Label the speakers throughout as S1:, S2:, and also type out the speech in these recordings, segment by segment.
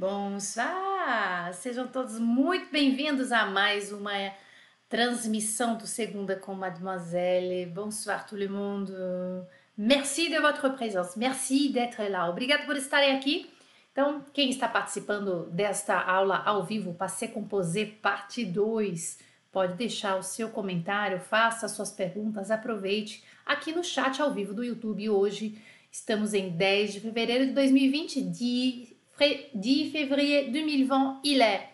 S1: Bonsoir! Sejam todos muito bem-vindos a mais uma transmission do Segunda com Mademoiselle. Bonsoir tout le monde. Merci de votre présence. Merci d'être là. Obrigado por estarem aqui. Então, quem está participando desta aula ao vivo, Passé Composé, parte 2, pode deixar o seu comentário, faça suas perguntas, aproveite aqui no chat ao vivo do YouTube. Hoje estamos em 10 de fevereiro de 2020, 10 février 2020, il est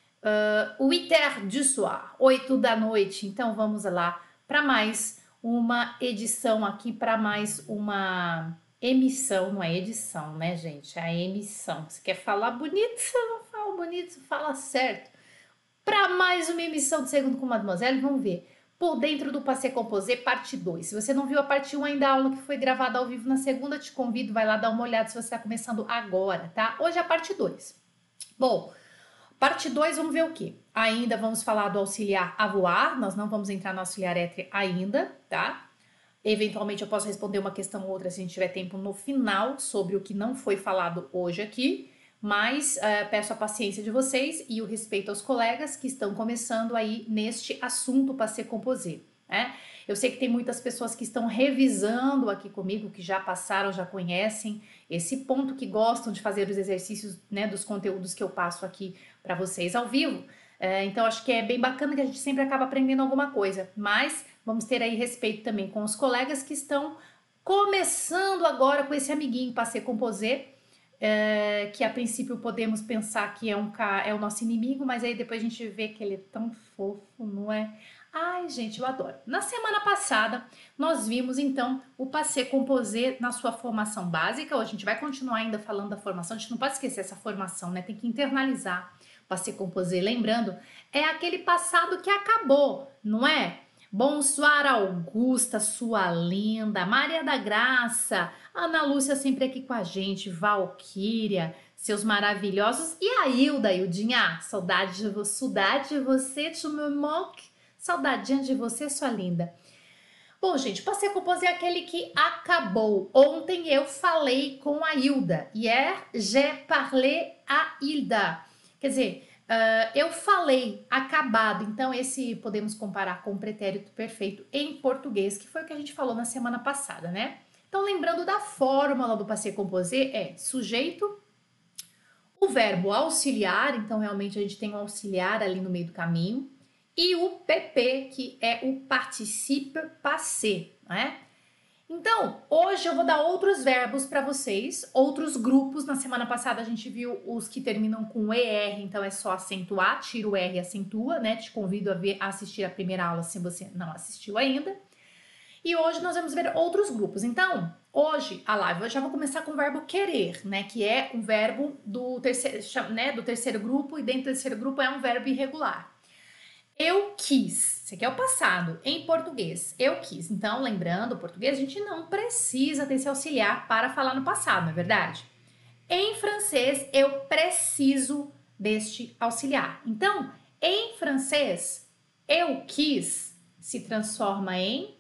S1: 8h du soir, 8 da noite. Então vamos lá para mais uma edição aqui, para mais uma emissão, não é edição, né, gente? É a emissão. Você quer falar bonito? Você não fala bonito, você fala certo. Para mais uma emissão do Segundo com Mademoiselle, vamos ver. Por dentro do Passé Composé, parte 2. Se você não viu a parte 1 ainda, a aula que foi gravada ao vivo na segunda, te convido, vai lá dar uma olhada se você está começando agora, tá? Hoje é a parte 2. Bom, parte 2, vamos ver o quê? Ainda vamos falar do auxiliar avoir, nós não vamos entrar no auxiliar être ainda, tá? Eventualmente eu posso responder uma questão ou outra se a gente tiver tempo no final sobre o que não foi falado hoje aqui, mas peço a paciência de vocês e o respeito aos colegas que estão começando aí neste assunto Passé Composé, né? Eu sei que tem muitas pessoas que estão revisando aqui comigo, que já passaram, já conhecem esse ponto, que gostam de fazer os exercícios, né, dos conteúdos que eu passo aqui para vocês ao vivo. Então acho que é bem bacana que a gente sempre acaba aprendendo alguma coisa, mas vamos ter aí respeito também com os colegas que estão começando agora com esse amiguinho Passé Composé, que a princípio podemos pensar que é o nosso inimigo, mas aí depois a gente vê que ele é tão fofo, não é? Ai, gente, eu adoro. Na semana passada, nós vimos, então, o Passé Composé na sua formação básica. Hoje a gente vai continuar ainda falando da formação. A gente não pode esquecer essa formação, né? Tem que internalizar o Passé Composé. Lembrando, é aquele passado que acabou, não é? Bonsoir, Augusta, sua linda, Maria da Graça, Ana Lúcia sempre aqui com a gente, Valquíria, seus maravilhosos, e a Hildinha, saudade de você, tu me moque, saudadinha de você, sua linda. Bom, gente, Passé Composé é aquele que acabou. Ontem eu falei com a Hilda, hier j'ai parlé à Hilda, quer dizer, eu falei acabado, então esse podemos comparar com o pretérito perfeito em português, que foi o que a gente falou na semana passada, né? Então, lembrando da fórmula do Passé Composé, é sujeito, o verbo auxiliar, então realmente a gente tem um auxiliar ali no meio do caminho, e o PP, que é o participe passé, né? Então, hoje eu vou dar outros verbos para vocês, outros grupos. Na semana passada a gente viu os que terminam com ER, então é só acentuar, tira o R e acentua, né? Te convido a assistir a primeira aula se você não assistiu ainda. E hoje nós vamos ver outros grupos. Então, hoje, a live, eu já vou começar com o verbo querer, né? Que é um verbo do terceiro grupo, e dentro do terceiro grupo é um verbo irregular. Eu quis, esse aqui é o passado, em português, eu quis. Então, lembrando, o português a gente não precisa desse auxiliar para falar no passado, não é verdade? Em francês, eu preciso deste auxiliar. Então, em francês, eu quis se transforma em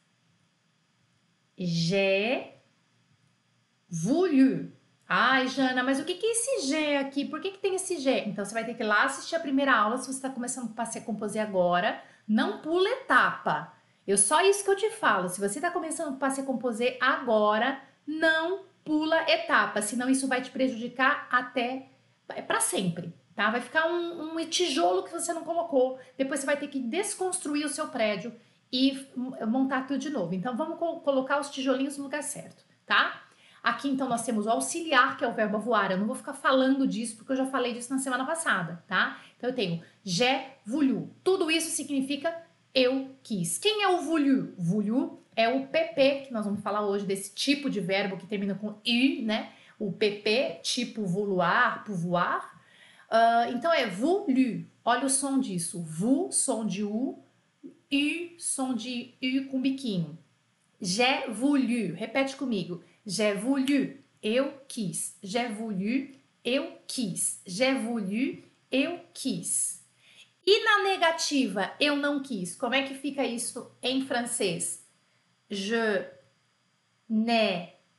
S1: j'ai voulu. Ai, Jana, mas o que é esse G aqui? Por que tem esse G? Então, você vai ter que ir lá assistir a primeira aula, se você está começando com Passé Composé agora. Não pula etapa. Só isso que eu te falo. Se você está começando com Passé Composé agora, não pula etapa, senão isso vai te prejudicar até para sempre, tá? Vai ficar um tijolo que você não colocou. Depois você vai ter que desconstruir o seu prédio e montar tudo de novo. Então, vamos colocar os tijolinhos no lugar certo, tá? Aqui, então, nós temos o auxiliar, que é o verbo avoir. Eu não vou ficar falando disso, porque eu já falei disso na semana passada, tá? Então, eu tenho j'ai voulu. Tudo isso significa eu quis. Quem é o voulu? Voulu é o PP, que nós vamos falar hoje, desse tipo de verbo que termina com U, né? O PP, tipo vouloir, pouvoir. Então, é voulu. Olha o som disso. Vous, som de U, som de U com biquinho. J'ai voulu. Repete comigo. J'ai voulu, eu quis. J'ai voulu, eu quis. J'ai voulu, eu quis. E na negativa, eu não quis, como é que fica isso em francês? Je n'ai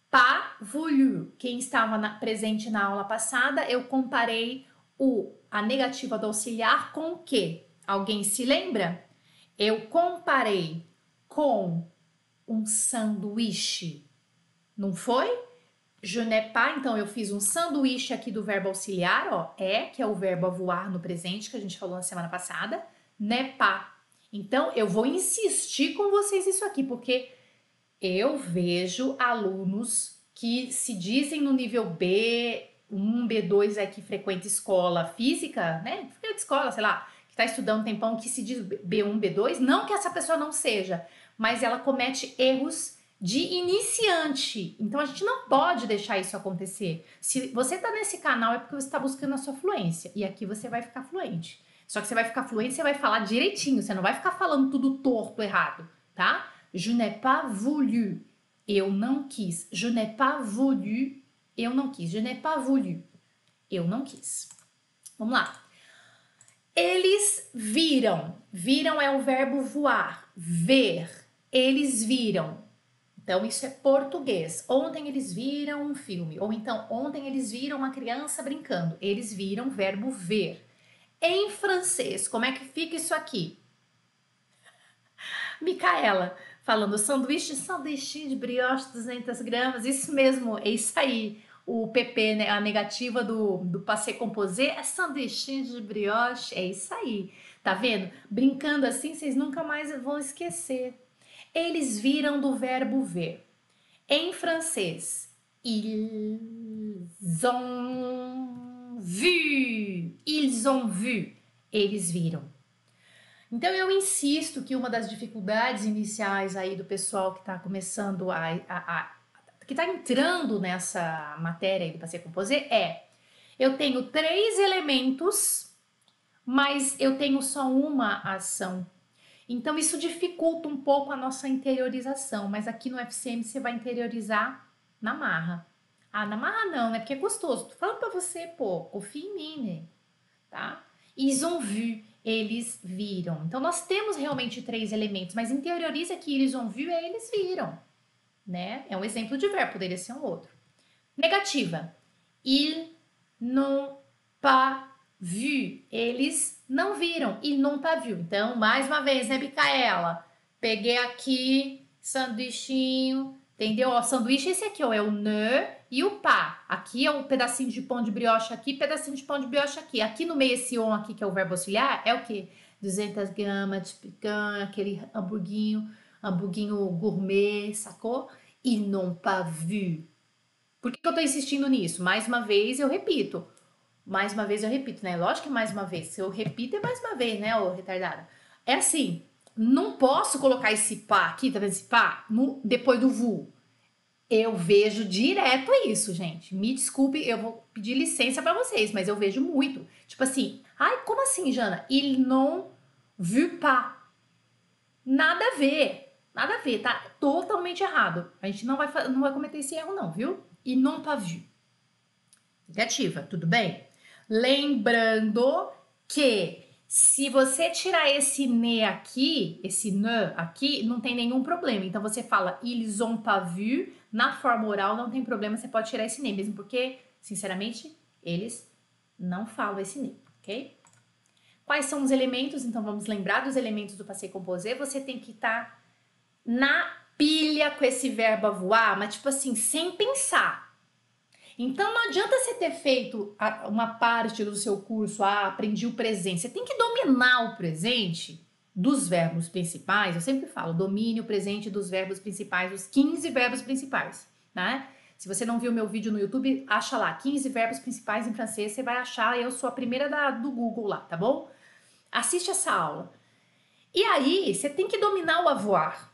S1: pas voulu. Quem estava presente na aula passada, eu comparei a negativa do auxiliar com o quê? Alguém se lembra? Eu comparei com um sanduíche, não foi? Je n'ai pas, então eu fiz um sanduíche aqui do verbo auxiliar, ó, que é o verbo avoir no presente, que a gente falou na semana passada, n'est pas. Então, eu vou insistir com vocês isso aqui, porque eu vejo alunos que se dizem no nível B1, B2, que frequenta escola física, né? Frequenta escola, sei lá, que está estudando um tempão, que se diz B1, B2, não que essa pessoa não seja, mas ela comete erros de iniciante. Então a gente não pode deixar isso acontecer. Se você está nesse canal é porque você está buscando a sua fluência. E aqui você vai ficar fluente. Só que você vai ficar fluente, você vai falar direitinho. Você não vai ficar falando tudo torto, errado, tá? Je n'ai pas voulu. Eu não quis. Je n'ai pas voulu. Eu não quis. Je n'ai pas voulu. Eu não quis. Vamos lá. Eles viram. Viram é o verbo voar. Ver. Eles viram. Então, isso é português. Ontem eles viram um filme. Ou então, ontem eles viram uma criança brincando. Eles viram o verbo ver. Em francês, como é que fica isso aqui? Micaela, falando sanduíche de brioche, 200 gramas. Isso mesmo, é isso aí. O PP, né, a negativa do passé composé é sanduíche de brioche. É isso aí. Tá vendo? Brincando assim, vocês nunca mais vão esquecer. Eles viram do verbo ver. Em francês, ils ont vu. Ils ont vu. Eles viram. Então, eu insisto que uma das dificuldades iniciais aí do pessoal que está começando que está entrando nessa matéria aí do passé composé eu tenho 3 elementos, mas eu tenho só uma ação. Então, isso dificulta um pouco a nossa interiorização, mas aqui no FCM você vai interiorizar na marra. Ah, na marra não, né? Porque é gostoso. Tô falando pra você, pô, confia em mim, né? Tá? Ils ont vu, eles viram. Então, nós temos realmente 3 elementos, mas interioriza que ils ont vu é eles viram, né? É um exemplo de verbo, poderia ser um outro. Negativa. Ils n'ont pas vu. Eles não viram. Ils n'ont pas vu. Então, mais uma vez, né, Micaela? Peguei aqui, sanduichinho, entendeu? Ó, sanduíche esse aqui, ó, é o ne e o pas. Aqui é um pedacinho de pão de brioche aqui, pedacinho de pão de brioche aqui. Aqui no meio esse on aqui, que é o verbo auxiliar, é o quê? 200 gramas de picanha, aquele hamburguinho gourmet, sacou? Ils n'ont pas vu. Por que eu tô insistindo nisso? Mais uma vez eu repito. Mais uma vez eu repito, né? Lógico que mais uma vez. Se eu repito, é mais uma vez, né, ô retardada? É assim, não posso colocar esse pá aqui, tá vendo esse pá? Depois do vu. Eu vejo direto isso, gente. Me desculpe, eu vou pedir licença pra vocês, mas eu vejo muito. Tipo assim, ai, como assim, Jana? Il non vu pas. Nada a ver. Nada a ver, tá totalmente errado. A gente não vai cometer esse erro não, viu? Il non pas vu. Negativa, tudo bem? Lembrando que se você tirar esse ne aqui, esse ne aqui, não tem nenhum problema. Então você fala ils ont pas vu, na forma oral não tem problema, você pode tirar esse ne, mesmo porque, sinceramente, eles não falam esse ne, ok? Quais são os elementos? Então vamos lembrar dos elementos do passé composé. Você tem que estar na pilha com esse verbo avoir, mas tipo assim, sem pensar. Então não adianta você ter feito uma parte do seu curso, aprendi o presente. Você tem que dominar o presente dos verbos principais. Eu sempre falo, domine o presente dos verbos principais, os 15 verbos principais, né? Se você não viu meu vídeo no YouTube, acha lá, 15 verbos principais em francês, você vai achar, eu sou a primeira do Google lá, tá bom? Assiste essa aula. E aí, você tem que dominar o avoir.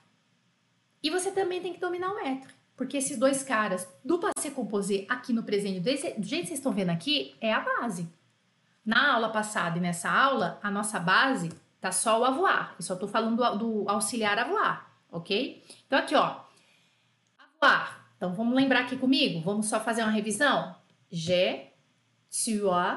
S1: E você também tem que dominar o être. Porque esses dois caras do passé composé aqui no presente, do jeito que vocês estão vendo aqui, é a base. Na aula passada e nessa aula, a nossa base tá só o avoir. Eu só tô falando do auxiliar avoir, ok? Então aqui, ó. Avoir. Então vamos lembrar aqui comigo? Vamos só fazer uma revisão? J'ai, tu as,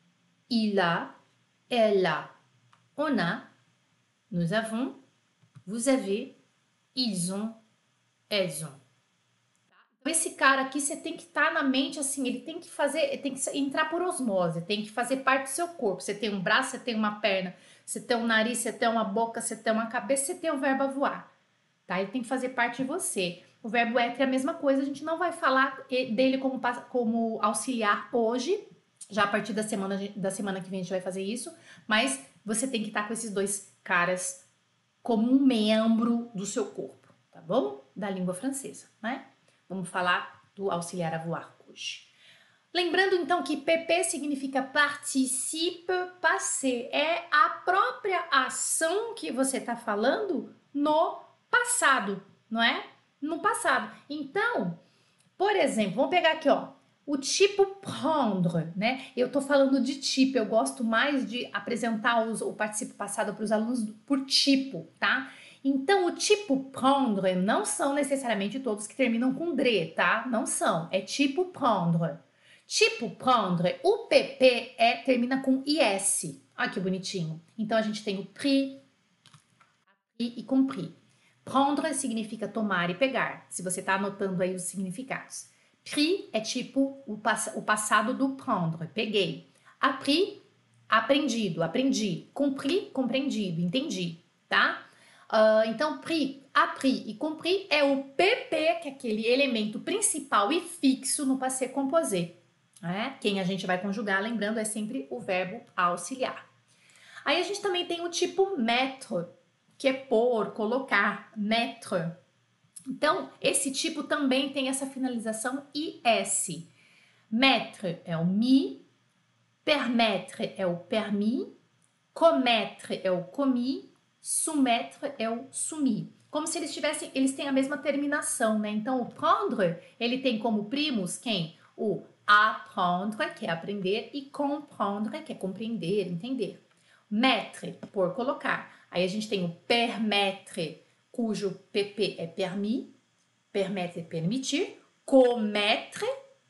S1: il a, elle a, on a, nous avons, vous avez, ils ont, elles ont. Esse cara aqui, você tem que estar na mente assim, ele tem que entrar por osmose, tem que fazer parte do seu corpo. Você tem um braço, você tem uma perna, você tem um nariz, você tem uma boca, você tem uma cabeça, você tem o verbo voar, tá? Ele tem que fazer parte de você. O verbo être é a mesma coisa, a gente não vai falar dele como auxiliar hoje, já a partir da semana que vem a gente vai fazer isso, mas você tem que estar com esses dois caras como um membro do seu corpo, tá bom? Da língua francesa, né? Vamos falar do auxiliar a voar hoje. Lembrando então que PP significa participe passé, é a própria ação que você está falando no passado, não é? No passado. Então, por exemplo, vamos pegar aqui, ó, o tipo prendre, né? Eu tô falando de tipo, eu gosto mais de apresentar o participo passado para os alunos por tipo, tá? Então, o tipo prendre não são necessariamente todos que terminam com dre, tá? Não são, é tipo prendre. Tipo prendre, o PP termina com IS. Olha que bonitinho. Então, a gente tem o pris, appris e compris. Prendre significa tomar e pegar, se você tá anotando aí os significados. Pris é tipo o passado do prendre, peguei. Appris, aprendido, aprendi. Compris, compreendido, entendi, tá? Então, pris, appris e compris é o PP, que é aquele elemento principal e fixo no passé composé. Né? Quem a gente vai conjugar, lembrando, é sempre o verbo auxiliar. Aí a gente também tem o tipo mettre, que é pôr, colocar, mettre. Então, esse tipo também tem essa finalização IS. Mettre é o mi, permettre é o permis, commettre é o commis, soumettre é o soumis. Como se eles têm a mesma terminação, né? Então, o prendre, ele tem como primos quem? O apprendre, que é aprender, e comprendre, que é compreender, entender. Mettre, por colocar. Aí a gente tem o permettre, cujo PP é permis, permettre é permitir, commettre,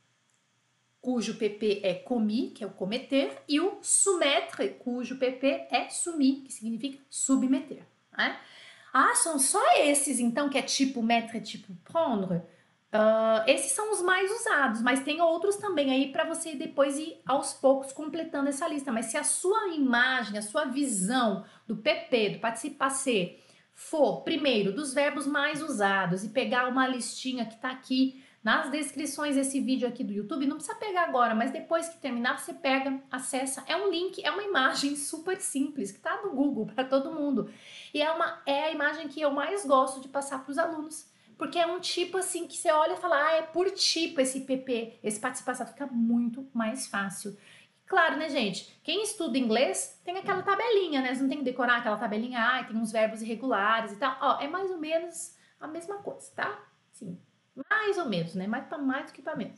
S1: cujo PP é commis, que é o cometer, e o soumettre, cujo PP é soumis, que significa submeter. Né? Ah, são só esses, então, que é tipo mettre, tipo prendre? Esses são os mais usados, mas tem outros também aí para você depois ir aos poucos completando essa lista. Mas se a sua imagem, a sua visão do PP, do participe passé, for primeiro dos verbos mais usados e pegar uma listinha que está aqui nas descrições desse vídeo aqui do YouTube, não precisa pegar agora, mas depois que terminar você pega, acessa, é um link, é uma imagem super simples que está no Google para todo mundo e é a imagem que eu mais gosto de passar para os alunos, porque é um tipo assim que você olha e fala, é por tipo esse PP, esse participe passado, fica muito mais fácil. Claro, né, gente? Quem estuda inglês tem aquela tabelinha, né? Você não tem que decorar aquela tabelinha, tem uns verbos irregulares e tal. Ó, é mais ou menos a mesma coisa, tá? Sim, mais ou menos, né? Mais do que para menos.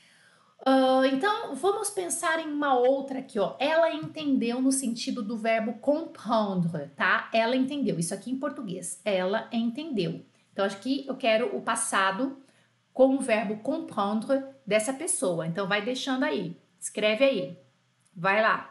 S1: Então, vamos pensar em uma outra aqui, ó. Ela entendeu no sentido do verbo comprendre, tá? Ela entendeu. Isso aqui em português. Ela entendeu. Então, acho que eu quero o passado com o verbo comprendre dessa pessoa. Então, vai deixando aí. Escreve aí. Vai lá.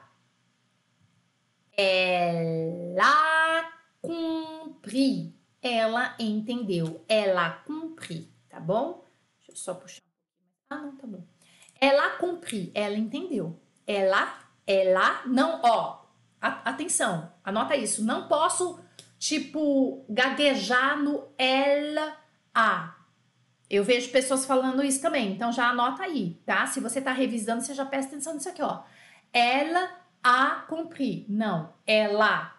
S1: Ela compris. Ela entendeu. Ela compris, tá bom? Deixa eu só puxar um pouquinho mais. Ah, não, tá bom. Ela compris. Ela entendeu. Não, ó. Atenção, anota isso. Não posso, tipo, gaguejar no ela, a. Eu vejo pessoas falando isso também, então já anota aí, tá? Se você tá revisando, você já presta atenção nisso aqui, ó. Ela a compris. Não, ela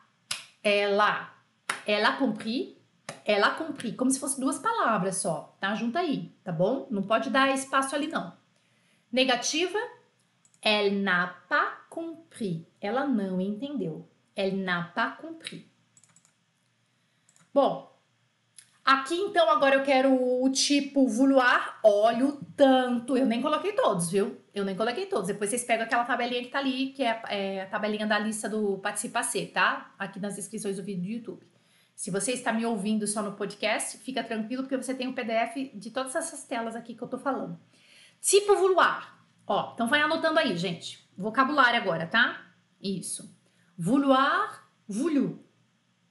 S1: compris, ela compris. Como se fosse duas palavras só, tá? Junta aí, tá bom? Não pode dar espaço ali, não. Negativa, elle n'a pas compris. Ela não entendeu. Elle n'a pas compris. Bom, aqui, então, agora eu quero o tipo vouloir. Olha o tanto. Eu nem coloquei todos, viu? Eu nem coloquei todos. Depois vocês pegam aquela tabelinha que tá ali, que é a tabelinha da lista do participe passé, tá? Aqui nas descrições do vídeo do YouTube. Se você está me ouvindo só no podcast, fica tranquilo, porque você tem o PDF de todas essas telas aqui que eu tô falando. Tipo vouloir. Ó, então vai anotando aí, gente. Vocabulário agora, tá? Isso. Vouloir, voulu.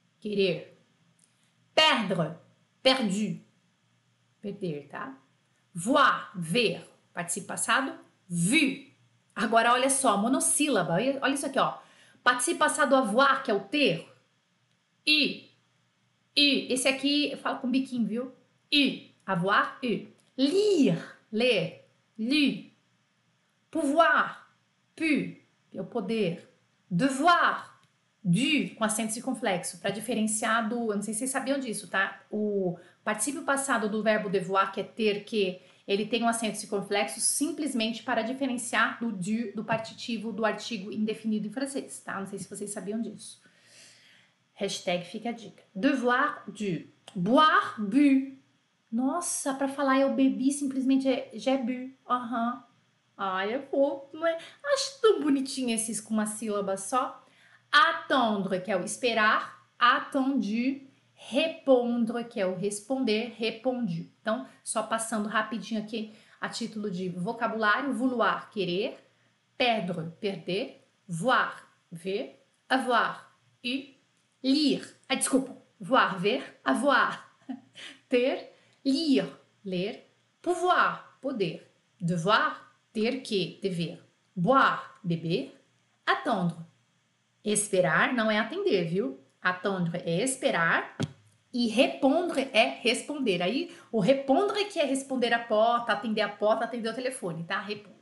S1: Querer. Perdre. Perdu. Perder, tá? Voir, ver. Participe passado, vu. Agora, olha só, monossílaba. Olha isso aqui, ó. Participe passado avoir, que é o ter. U. Esse aqui, fala com biquinho, viu? U. Avoir, U. Lire, ler. Lu. Pouvoir, pu, é o poder. Devoir, dû, com acento circunflexo, para diferenciar do, eu não sei se vocês sabiam disso, tá? O particípio passado do verbo devoir, que é ter que, ele tem um acento circunflexo simplesmente para diferenciar do dû, do partitivo do artigo indefinido em francês, tá? Não sei se vocês sabiam disso. Hashtag fica a dica. Devoir, dû. Boire, bu. Nossa, para falar eu bebi, simplesmente é j'ai bu. Aham. Ai, é fofo, não é? Acho tão bonitinho esses com uma sílaba só. Attendre, que é o esperar. Attendu. Répondre, que é o responder. Répondu. Então, só passando rapidinho aqui a título de vocabulário. Vouloir, querer. Perdre, perder. Voir, ver. Avoir, lire. Ah, desculpa. Voir, ver. Avoir, ter. Lire, ler. Pouvoir, poder. Devoir, ter que, dever. Boire, beber. Attendre, esperar, não é atender, viu? Attendre é esperar. E répondre é responder. Aí, o répondre que é responder a porta, atender o telefone, tá? Répondre.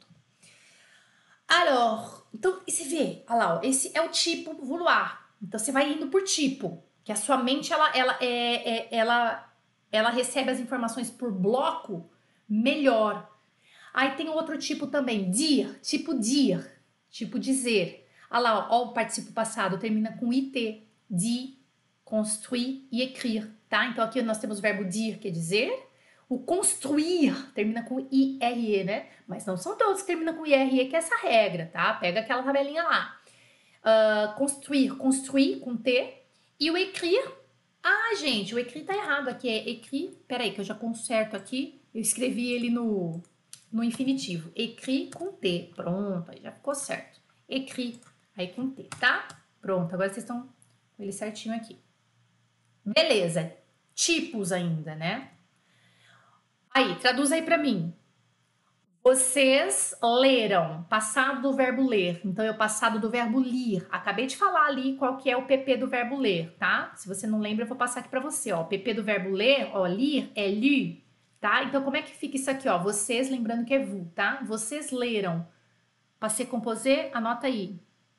S1: Alors, então, você vê, olha lá, ó, esse é o tipo vouloir. Então, você vai indo por tipo, que a sua mente, ela recebe as informações por bloco melhor. Aí tem outro tipo também, dire, tipo dizer. Olha lá, ó, o participo passado termina com it, dit, construire e écrire, tá? Então aqui nós temos o verbo dire, que é dizer. O construir termina com ire, né? Mas não são todos que terminam com ire, que é essa regra, tá? Pega aquela tabelinha lá. Construir com T. E o écrire, gente, o écrire tá errado aqui, é écrit. Peraí, que eu já conserto aqui. Eu escrevi ele no infinitivo. Écrit com T. Pronto, aí já ficou certo. Écrit, aí com T, tá? Pronto, agora vocês estão com ele certinho aqui. Beleza, tipos ainda, né? Aí, traduz aí pra mim. Vocês leram, passado do verbo ler. Então, é o passado do verbo lir. Acabei de falar ali qual que é o PP do verbo ler, tá? Se você não lembra, eu vou passar aqui pra você, ó. O PP do verbo ler, ó, lir é lu, tá? Então, como é que fica isso aqui, ó? Vocês, lembrando que é vous, tá? Vocês leram. Passé composé, anota aí.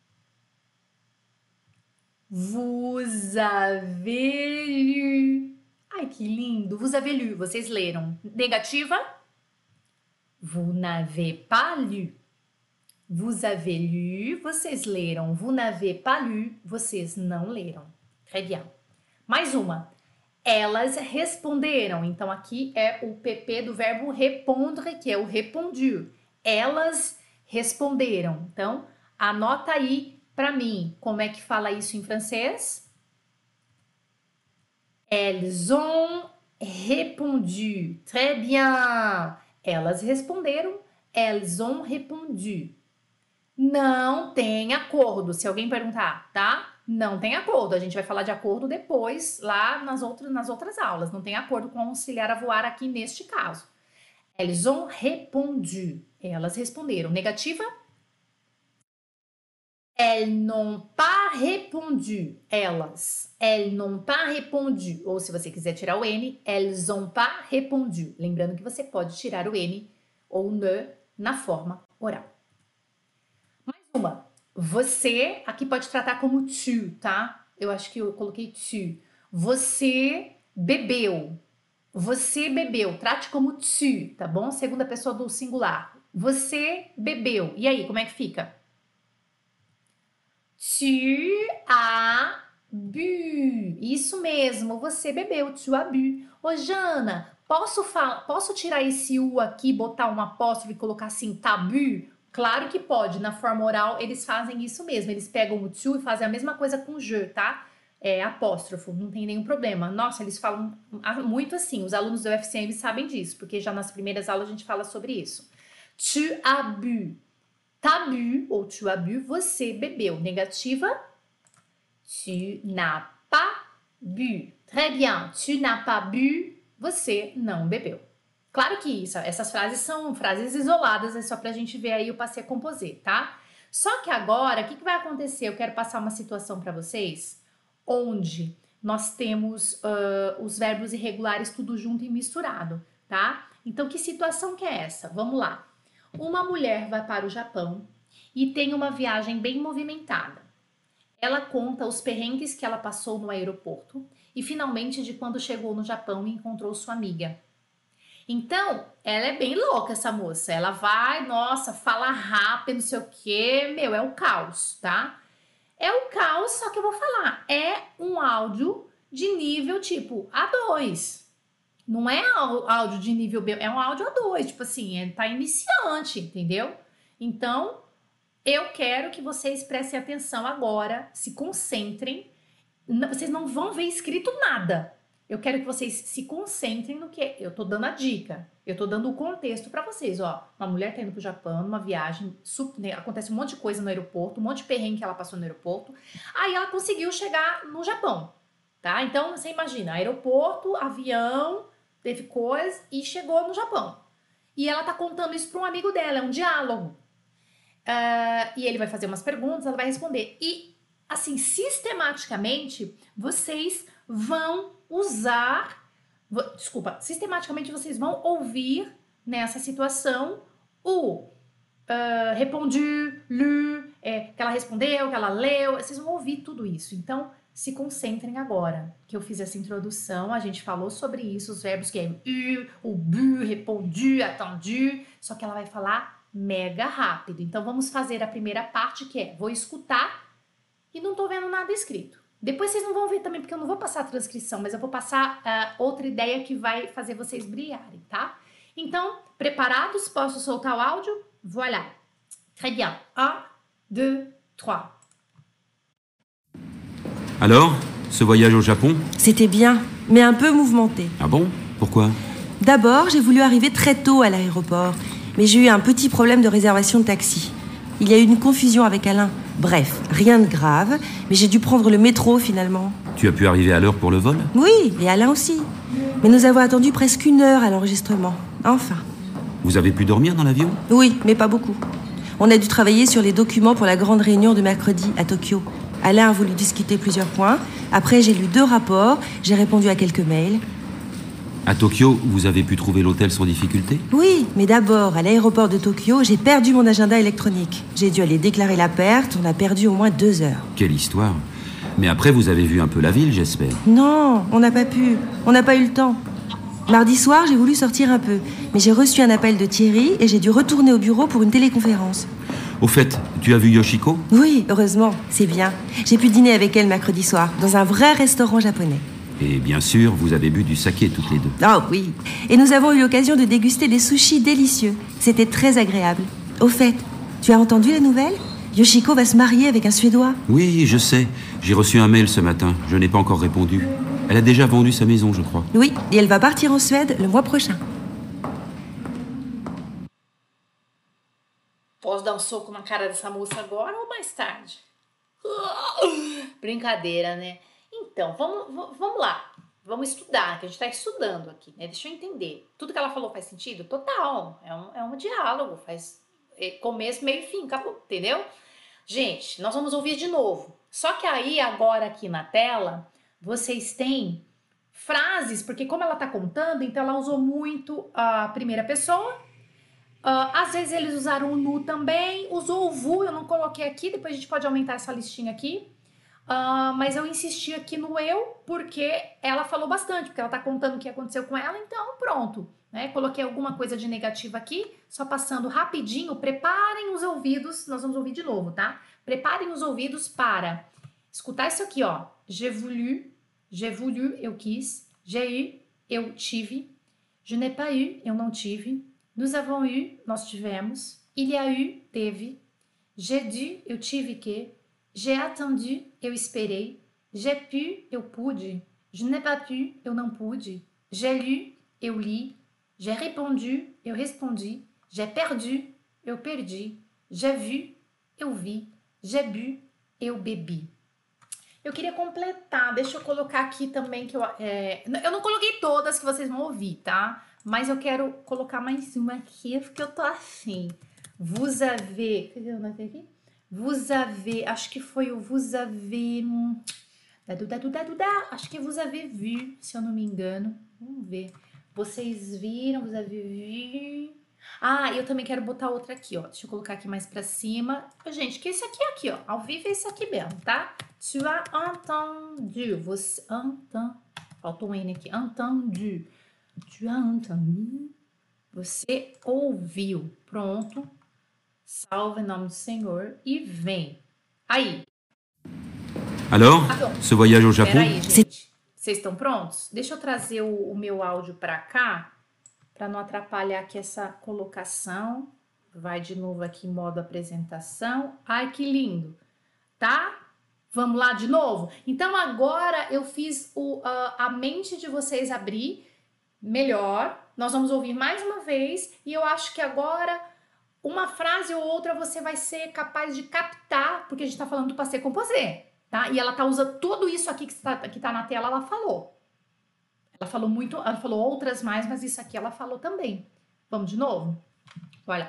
S1: Vous avez lu. Ai, que lindo. Vous avez lu. Vocês leram. Negativa. Vous n'avez pas lu. Vous avez lu. Vocês leram. Vous n'avez pas lu. Vocês não leram. Très bien. Mais uma. Elas responderam. Então, aqui é o PP do verbo répondre, que é o répondu. Elas responderam. Então, anota aí para mim como é que fala isso em francês. Elles ont répondu. Très bien. Elas responderam. Elles ont répondu. Não tem acordo. Se alguém perguntar, tá? Não tem acordo. A gente vai falar de acordo depois, lá nas outras aulas. Não tem acordo com auxiliar a voar aqui neste caso. Elles ont répondu. Elas responderam. Negativa? Elles n'ont pas répondu. Elas. Elles n'ont pas répondu. Ou se você quiser tirar o N, elles ont pas répondu. Lembrando que você pode tirar o N ou ne na forma oral. Mais uma. Você, aqui pode tratar como tu, tá? Eu acho que eu coloquei tu. Você bebeu. Você bebeu. Trate como tu, tá bom? Segunda pessoa do singular. Você bebeu. E aí, como é que fica? Tu as bu. Isso mesmo, você bebeu. Tu as bu. Ô, Jana, posso tirar esse U aqui, botar um apóstrofe e colocar assim, tabu? Claro que pode. Na forma oral, eles fazem isso mesmo. Eles pegam o tu e fazem a mesma coisa com je, tá? É apóstrofo, não tem nenhum problema. Nossa, eles falam muito assim. Os alunos do UFCM sabem disso, porque já nas primeiras aulas a gente fala sobre isso. Tu as bu. T'as bu ou tu as bu, você bebeu. Negativa, tu n'as pas bu. Très bien, tu n'as pas bu, você não bebeu. Claro que essas frases são frases isoladas, é só pra gente ver aí o passé composé, tá? Só que agora, o que vai acontecer? Eu quero passar uma situação para vocês onde nós temos os verbos irregulares tudo junto e misturado, tá? Então, que situação que é essa? Vamos lá. Uma mulher vai para o Japão e tem uma viagem bem movimentada. Ela conta os perrengues que ela passou no aeroporto e finalmente de quando chegou no Japão e encontrou sua amiga. Então, ela é bem louca, essa moça. Ela vai, nossa, fala rápido, não sei o quê. Meu, é o caos, tá? É o caos, só que eu vou falar. É um áudio de nível tipo A2. Não é áudio de nível B, é um áudio A2. Tipo assim, tá iniciante, entendeu? Então, eu quero que vocês prestem atenção agora, se concentrem. Vocês não vão ver escrito nada. Eu quero que vocês se concentrem no que eu tô dando a dica. Eu tô dando o contexto para vocês, ó. Uma mulher tá indo pro Japão, numa viagem, acontece um monte de coisa no aeroporto, um monte de perrengue que ela passou no aeroporto. Aí ela conseguiu chegar no Japão, tá? Então, você imagina, aeroporto, avião, teve coisa e chegou no Japão. E ela tá contando isso para um amigo dela, é um diálogo. E ele vai fazer umas perguntas, ela vai responder. E, assim, sistematicamente, vocês vão usar... sistematicamente vocês vão ouvir nessa situação o répondu, lu, que ela respondeu, que ela leu. Vocês vão ouvir tudo isso. Então, se concentrem agora, que eu fiz essa introdução, a gente falou sobre isso, os verbos que é eu, o bu, répondu, attendu, só que ela vai falar mega rápido. Então, vamos fazer a primeira parte, que é, vou escutar e não tô vendo nada escrito. Depois vocês não vão ver também, porque eu não vou passar a transcrição, mas eu vou passar outra ideia que vai fazer vocês brilharem, tá? Então, preparados? Posso soltar o áudio? Voilà. Très bien. 1, 2, 3.
S2: Alors, ce voyage au Japon?
S3: C'était bien, mais un peu mouvementé.
S2: Ah bon? Pourquoi?
S3: D'abord, j'ai voulu arriver très tôt à l'aéroport, mais j'ai eu un petit problème de réservation de taxi. Il y a eu une confusion avec Alain. Bref, rien de grave, mais j'ai dû prendre le métro finalement.
S2: Tu as pu arriver à l'heure pour le vol?
S3: Oui, et Alain aussi. Mais nous avons attendu presque 1 heure à l'enregistrement. Enfin.
S2: Vous avez pu dormir dans l'avion?
S3: Oui, mais pas beaucoup. On a dû travailler sur les documents pour la grande réunion de mercredi à Tokyo. Alain a voulu discuter plusieurs points. Après, j'ai lu 2 rapports, j'ai répondu à quelques mails.
S2: À Tokyo, vous avez pu trouver l'hôtel sans difficulté?
S3: Oui, mais d'abord, à l'aéroport de Tokyo, j'ai perdu mon agenda électronique. J'ai dû aller déclarer la perte, on a perdu au moins 2 heures.
S2: Quelle histoire! Mais après, vous avez vu un peu la ville, j'espère?
S3: Non, on n'a pas pu. On n'a pas eu le temps. Mardi soir, j'ai voulu sortir un peu, mais j'ai reçu un appel de Thierry et j'ai dû retourner au bureau pour une téléconférence.
S2: Au fait, tu as vu Yoshiko?
S3: Oui, heureusement, c'est bien. J'ai pu dîner avec elle mercredi soir, dans un vrai restaurant japonais.
S2: Et bien sûr, vous avez bu du saké toutes les deux.
S3: Ah oui. Et nous avons eu l'occasion de déguster des sushis délicieux. C'était très agréable. Au fait, tu as entendu la nouvelle? Yoshiko va se marier avec un Suédois.
S2: Oui, je sais. J'ai reçu un mail ce matin. Je n'ai pas encore répondu. Elle a déjà vendu sa maison, je crois.
S3: Oui, et elle va partir en Suède le mois prochain.
S1: Posso dar um soco na cara dessa moça agora ou mais tarde? Brincadeira, né? Então, vamos lá. Vamos estudar, que a gente tá estudando aqui, né? Deixa eu entender. Tudo que ela falou faz sentido? Total. É um diálogo. Faz começo, meio e fim. Acabou, entendeu? Gente, nós vamos ouvir de novo. Só que aí, agora aqui na tela, vocês têm frases, porque como ela tá contando, então ela usou muito a primeira pessoa. Às vezes eles usaram o nu também, usou o vu, eu não coloquei aqui, depois a gente pode aumentar essa listinha aqui. Mas eu insisti aqui no eu, porque ela falou bastante, porque ela tá contando o que aconteceu com ela, então pronto, né? Coloquei alguma coisa de negativa aqui, só passando rapidinho, preparem os ouvidos, nós vamos ouvir de novo, tá? Preparem os ouvidos para escutar isso aqui, ó. J'ai voulu, eu quis, j'ai eu, eu tive, je n'ai pas eu, eu não tive, nous avons eu, nós tivemos, il y a eu, teve, j'ai dû, eu tive que, j'ai attendu, eu esperei, j'ai pu, eu pude, je n'ai pas pu, eu não pude, j'ai lu, eu li, j'ai répondu, eu respondi, j'ai perdu, eu perdi, j'ai vu, eu vi, j'ai bu, eu bebi. Eu queria completar, deixa eu colocar aqui também que eu não coloquei todas que vocês vão ouvir, tá? Mas eu quero colocar mais uma aqui, porque eu tô afim. Vous avez... Cadê eu anotei aqui? Vous avez... Acho que foi o vous avez... Acho que vous avez vu, se eu não me engano. Vamos ver. Vocês viram, vous avez vu... Ah, eu também quero botar outra aqui, ó. Deixa eu colocar aqui mais pra cima. Gente, que esse aqui, ó. Ao vivo é esse aqui mesmo, tá? Tu as entendu. Você entend... Faltou um N aqui. Entendu. Tu as entendu. Você ouviu. Pronto. Salve em nome do Senhor. E vem. Aí.
S2: Alors, ce voyage au Japon...
S1: Peraí, gente. Vocês estão prontos? Deixa eu trazer o meu áudio pra cá. Para não atrapalhar aqui essa colocação. Vai de novo aqui em modo apresentação. Ai, que lindo. Tá? Vamos lá de novo? Então, agora eu fiz a mente de vocês abrir melhor. Nós vamos ouvir mais uma vez. E eu acho que agora, uma frase ou outra, você vai ser capaz de captar, porque a gente tá falando do passé composé, tá? E ela tá usando tudo isso aqui que tá na tela, ela falou. Ela falou muito, ela falou outras mais, mas isso aqui ela falou também. Vamos de novo? Voilà.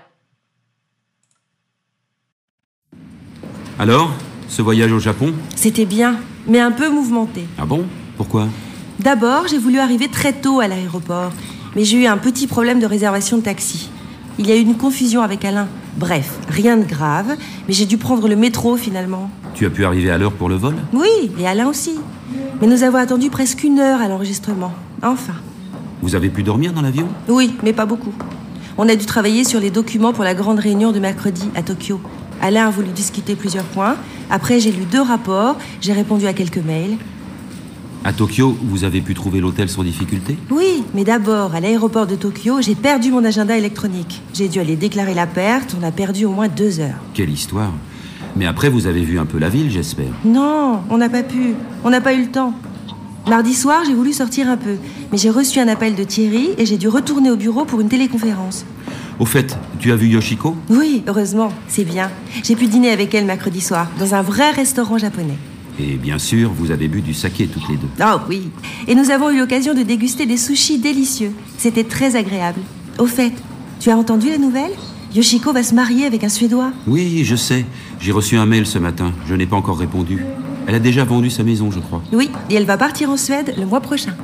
S2: Alors, ce voyage au Japon...
S3: C'était bien, mais un peu mouvementé.
S2: Ah bon? Pourquoi?
S3: D'abord, j'ai voulu arriver très tôt à l'aéroport, mais j'ai eu un petit problème de réservation de taxi. Il y a eu une confusion avec Alain. Bref, rien de grave, mais j'ai dû prendre le métro finalement.
S2: Tu as pu arriver à l'heure pour le vol?
S3: Oui, et Alain aussi. Mais nous avons attendu presque 1 heure à l'enregistrement. Enfin.
S2: Vous avez pu dormir dans l'avion?
S3: Oui, mais pas beaucoup. On a dû travailler sur les documents pour la grande réunion de mercredi à Tokyo. Alain a voulu discuter plusieurs points. Après, j'ai lu 2 rapports, j'ai répondu à quelques mails.
S2: À Tokyo, vous avez pu trouver l'hôtel sans difficulté?
S3: Oui, mais d'abord, à l'aéroport de Tokyo, j'ai perdu mon agenda électronique. J'ai dû aller déclarer la perte, on a perdu au moins 2 heures.
S2: Quelle histoire! Mais après, vous avez vu un peu la ville, j'espère.
S3: Non, on n'a pas pu. On n'a pas eu le temps. Mardi soir, j'ai voulu sortir un peu. Mais j'ai reçu un appel de Thierry et j'ai dû retourner au bureau pour une téléconférence.
S2: Au fait, tu as vu Yoshiko?
S3: Oui, heureusement, c'est bien. J'ai pu dîner avec elle mercredi soir, dans un vrai restaurant japonais.
S2: Et bien sûr, vous avez bu du saké toutes les deux.
S3: Oh oui. Et nous avons eu l'occasion de déguster des sushis délicieux. C'était très agréable. Au fait, tu as entendu la nouvelle? Yoshiko va se marier avec un Suédois.
S2: Oui, je sais. J'ai reçu un mail ce matin. Je n'ai pas encore répondu. Elle a déjà vendu sa maison, je crois.
S3: Oui, et elle va partir en Suède le mois prochain.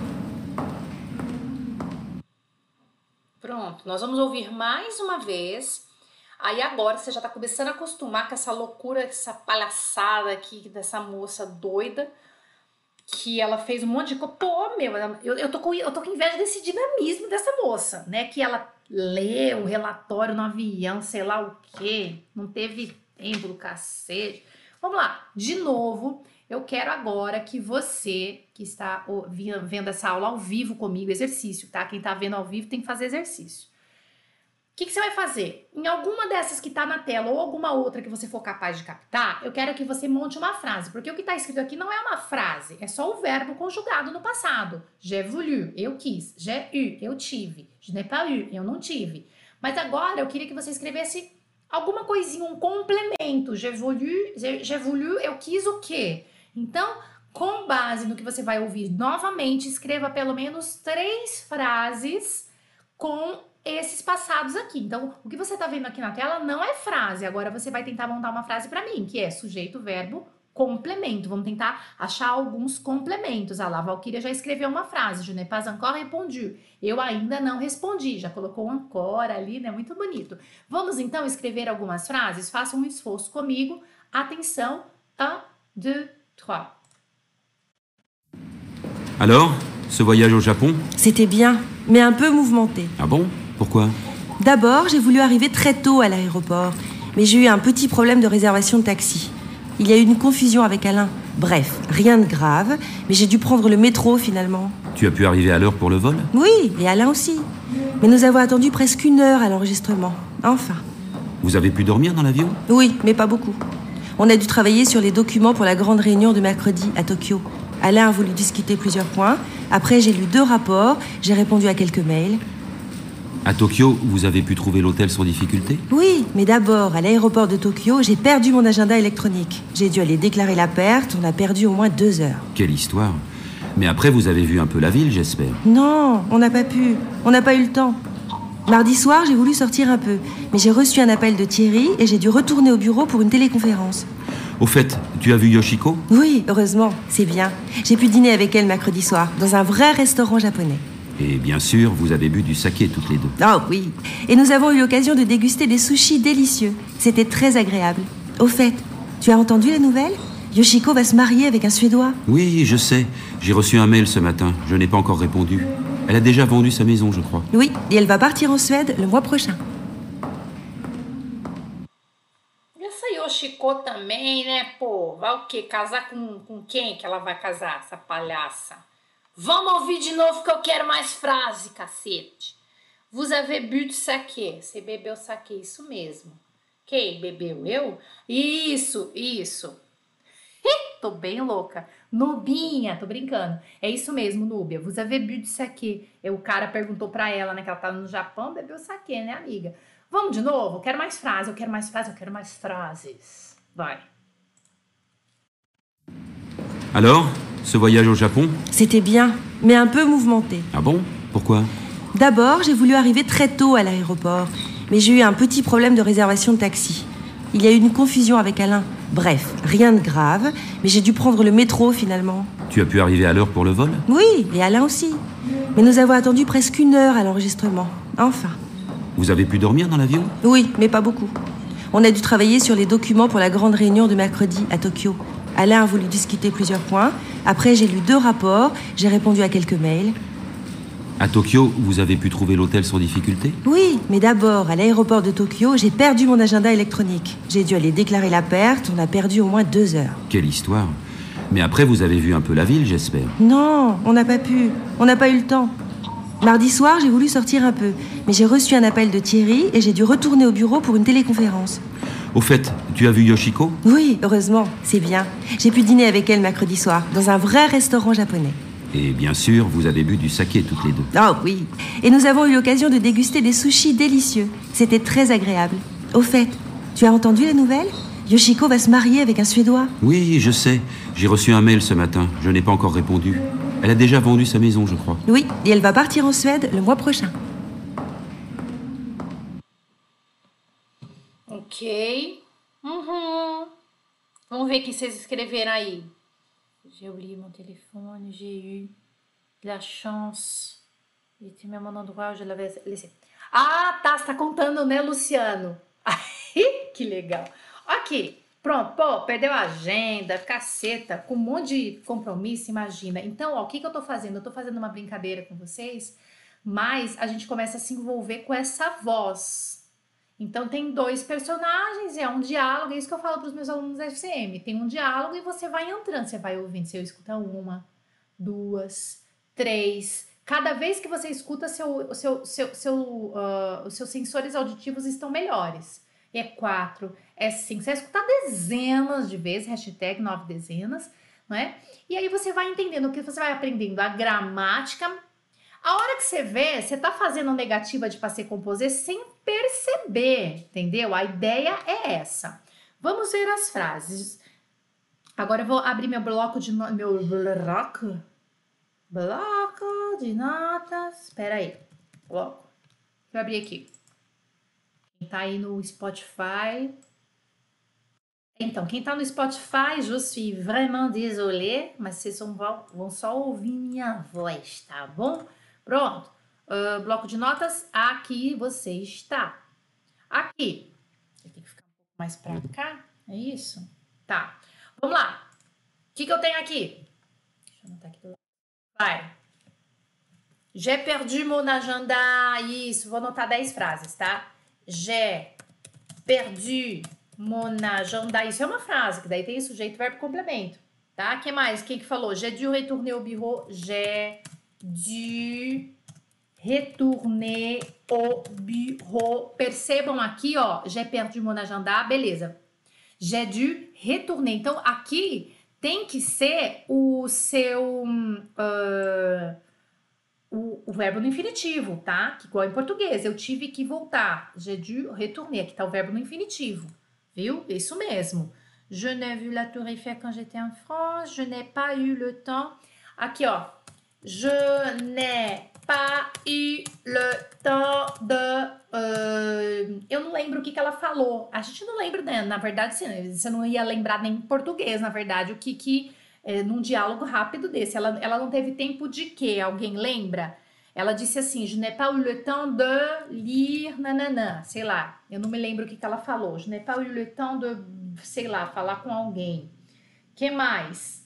S1: Pronto, nós vamos ouvir mais uma vez. Aí agora você já tá começando a acostumar com essa loucura, essa palhaçada aqui dessa moça doida, que ela fez um monte de coisa. Pô, meu, eu tô com inveja desse dinamismo dessa moça, né? Que ela lê o relatório no avião, sei lá o quê, não teve tempo do cacete. Vamos lá, de novo, eu quero agora que você, que está vendo essa aula ao vivo comigo, exercício, tá? Quem tá vendo ao vivo tem que fazer exercício. O que você vai fazer? Em alguma dessas que tá na tela ou alguma outra que você for capaz de captar, eu quero que você monte uma frase, porque o que tá escrito aqui não é uma frase, é só o verbo conjugado no passado. J'ai voulu, eu quis. J'ai eu, eu tive. Je n'ai pas eu, eu não tive. Mas agora eu queria que você escrevesse alguma coisinha, um complemento. J'ai voulu, eu quis o quê? Então, com base no que você vai ouvir novamente, escreva pelo menos 3 frases com esses passados aqui. Então, o que você tá vendo aqui na tela não é frase. Agora você vai tentar montar uma frase para mim, que é sujeito, verbo, complemento. Vamos tentar achar alguns complementos. Ah lá, a Valquíria já escreveu uma frase. Je n'ai pas encore répondu. Eu ainda não respondi. Já colocou um encore ali, né? Muito bonito. Vamos então escrever algumas frases? Faça um esforço comigo. Atenção. 1, 2, 3.
S2: Alors, ce voyage au Japon?
S3: C'était bien, mais un peu mouvementé.
S2: Ah bon? Pourquoi?
S3: D'abord, j'ai voulu arriver très tôt à l'aéroport, mais j'ai eu un petit problème de réservation de taxi. Il y a eu une confusion avec Alain. Bref, rien de grave, mais j'ai dû prendre le métro finalement.
S2: Tu as pu arriver à l'heure pour le vol?
S3: Oui, et Alain aussi. Mais nous avons attendu presque 1 heure à l'enregistrement. Enfin.
S2: Vous avez pu dormir dans l'avion?
S3: Oui, mais pas beaucoup. On a dû travailler sur les documents pour la grande réunion de mercredi à Tokyo. Alain a voulu discuter plusieurs points. Après, j'ai lu 2 rapports, j'ai répondu à quelques mails.
S2: À Tokyo, vous avez pu trouver l'hôtel sans difficulté?
S3: Oui, mais d'abord, à l'aéroport de Tokyo, j'ai perdu mon agenda électronique. J'ai dû aller déclarer la perte, on a perdu au moins 2 heures.
S2: Quelle histoire. Mais après, vous avez vu un peu la ville, j'espère.
S3: Non, on n'a pas pu. On n'a pas eu le temps. Mardi soir, j'ai voulu sortir un peu, mais j'ai reçu un appel de Thierry et j'ai dû retourner au bureau pour une téléconférence.
S2: Au fait, tu as vu Yoshiko?
S3: Oui, heureusement, c'est bien. J'ai pu dîner avec elle mercredi soir, dans un vrai restaurant japonais.
S2: Et bien sûr, vous avez bu du saké toutes les deux.
S3: Oh oui. Et nous avons eu l'occasion de déguster des sushis délicieux. C'était très agréable. Au fait, tu as entendu la nouvelle? Yoshiko va se marier avec un Suédois.
S2: Oui, je sais. J'ai reçu un mail ce matin. Je n'ai pas encore répondu. Elle a déjà vendu sa maison, je crois.
S3: Oui, et elle va partir en Suède le mois prochain.
S1: Essa Yoshiko também, né, pô? Vai o quê? Casar com quem que ela vai casar, essa palhaça? Vamos ouvir de novo que eu quero mais frase, cacete. Vous avez bu de saquê. Você bebeu saquê, isso mesmo. Quem bebeu? Eu? Isso. Tô bem louca. Nubinha, tô brincando. É isso mesmo, Núbia. Vous avez bu de saquê. O cara perguntou pra ela, né, que ela tava no Japão, bebeu saquê, né, amiga? Vamos de novo? Eu quero mais frases. Vai.
S2: Alors, ce voyage au Japon?
S3: C'était bien, mais un peu mouvementé.
S2: Ah bon? Pourquoi?
S3: D'abord, j'ai voulu arriver très tôt à l'aéroport, mais j'ai eu un petit problème de réservation de taxi. Il y a eu une confusion avec Alain. Bref, rien de grave, mais j'ai dû prendre le métro finalement.
S2: Tu as pu arriver à l'heure pour le vol?
S3: Oui, et Alain aussi. Mais nous avons attendu presque 1 heure à l'enregistrement. Enfin.
S2: Vous avez pu dormir dans l'avion?
S3: Oui, mais pas beaucoup. On a dû travailler sur les documents pour la grande réunion de mercredi à Tokyo. Alain a voulu discuter plusieurs points. Après, j'ai lu 2 rapports, j'ai répondu à quelques mails.
S2: À Tokyo, vous avez pu trouver l'hôtel sans difficulté?
S3: Oui, mais d'abord, à l'aéroport de Tokyo, j'ai perdu mon agenda électronique. J'ai dû aller déclarer la perte, on a perdu au moins 2 heures.
S2: Quelle histoire. Mais après, vous avez vu un peu la ville, j'espère.
S3: Non, on n'a pas pu. On n'a pas eu le temps. Mardi soir, j'ai voulu sortir un peu, mais j'ai reçu un appel de Thierry et j'ai dû retourner au bureau pour une téléconférence.
S2: Au fait, tu as vu Yoshiko?
S3: Oui, heureusement, c'est bien. J'ai pu dîner avec elle mercredi soir, dans un vrai restaurant japonais.
S2: Et bien sûr, vous avez bu du saké toutes les deux.
S3: Oh oui. Et nous avons eu l'occasion de déguster des sushis délicieux. C'était très agréable. Au fait, tu as entendu la nouvelle? Yoshiko va se marier avec un Suédois.
S2: Oui, je sais. J'ai reçu un mail ce matin. Je n'ai pas encore répondu. Elle a déjà vendu sa maison, je crois.
S3: Oui, et elle va partir en Suède le mois prochain.
S1: Ok. Vamos ver o que vocês escreveram aí. J'ai oublié mon téléphone, j'ai eu de la chance. Ele tinha me mandado um áudio, je l'avais laissé. Ah, tá, você tá contando, né, Luciano? Que legal. Ok, pronto, pô, perdeu a agenda, caceta, com um monte de compromisso, imagina. Então, ó, o que eu tô fazendo? Eu tô fazendo uma brincadeira com vocês, mas a gente começa a se envolver com essa voz. Então, tem 2 personagens, é um diálogo, é isso que eu falo para os meus alunos da FCM. Tem um diálogo e você vai entrando, você vai ouvindo, você escuta 1, 2, 3. Cada vez que você escuta, os seus sensores auditivos estão melhores. É 4, é 5. Você vai escutar dezenas de vezes, hashtag 9 dezenas, não é? E aí você vai entendendo, que você vai aprendendo a gramática. A hora que você vê, você tá fazendo negativa de passé composé sem perceber, entendeu? A ideia é essa. Vamos ver as frases. Agora eu vou abrir meu bloco de notas. Espera aí. Bloco. Vou abrir aqui. Quem tá aí no Spotify. Então, quem tá no Spotify, je suis vraiment désolée, mas vocês vão só ouvir minha voz, tá bom? Pronto, bloco de notas, aqui você está. Aqui, tem que ficar um pouco mais pra cá, é isso? Tá, vamos lá. O que eu tenho aqui? Deixa eu anotar aqui do lado. Vai. J'ai perdu mon agenda. Isso, vou anotar 10 frases, tá? J'ai perdu mon agenda. Isso é uma frase, que daí tem sujeito, verbo e complemento, tá? O que mais? Quem que falou? J'ai dû retourner au bureau. J'ai dû retourner au bureau. Percebam aqui, ó, j'ai perdu mon agenda, beleza. J'ai dû retourner. Então, aqui tem que ser o seu o verbo no infinitivo, tá? Que igual em português, eu tive que voltar. J'ai dû retourner. Aqui tá o verbo no infinitivo, viu? Isso mesmo. Je n'ai vu la Tour Eiffel quand j'étais en France. Je n'ai pas eu le temps. Aqui, ó. Je n'ai pas eu le temps de... eu não lembro o que ela falou. A gente não lembra, né? Na verdade, você não ia lembrar nem em português, na verdade, o que num diálogo rápido desse. Ela não teve tempo de quê? Alguém lembra? Ela disse assim, je n'ai pas eu le temps de lire, nananã, sei lá. Eu não me lembro o que ela falou. Je n'ai pas eu le temps de, sei lá, falar com alguém. Que mais?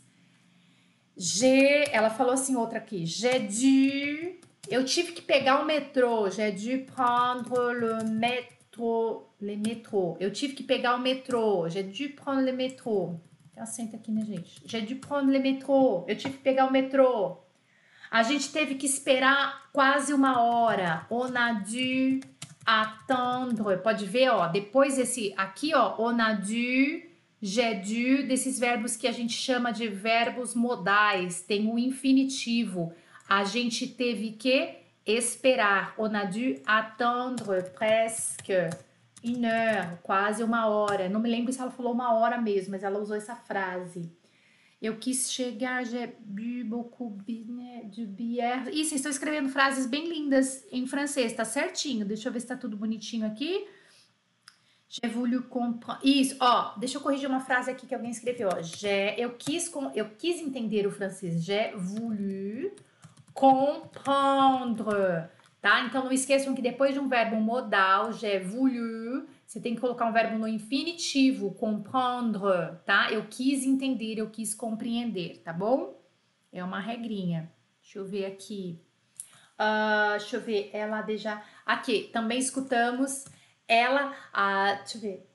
S1: Ela falou assim, outra aqui. J'ai dû... Eu tive que pegar o metrô. J'ai dû prendre le métro. Le métro. Eu tive que pegar o metrô. J'ai dû prendre le métro. Tem acento aqui, né, gente? J'ai dû prendre le métro. Eu tive que pegar o metrô. A gente teve que esperar quase uma hora. On a dû attendre. Pode ver, ó. Depois desse aqui, ó. On a dû... J'ai dû, desses verbos que a gente chama de verbos modais, tem o infinitivo. A gente teve que esperar. On a dû attendre presque une heure, quase uma hora. Não me lembro se ela falou uma hora mesmo, mas ela usou essa frase. Eu quis chegar, j'ai bu beaucoup de bière. Ih, vocês estão escrevendo frases bem lindas em francês, tá certinho. Deixa eu ver se tá tudo bonitinho aqui. J'ai voulu comprendre. Isso, ó, deixa eu corrigir uma frase aqui que alguém escreveu, ó. Eu quis entender o francês. J'ai voulu comprendre, tá? Então não esqueçam que depois de um verbo modal, j'ai voulu, você tem que colocar um verbo no infinitivo, comprendre, tá? Eu quis entender, eu quis compreender, tá bom? É uma regrinha. Deixa eu ver aqui. Deixa eu ver, ela deixa... Aqui, também escutamos... Ela, deixa eu ver.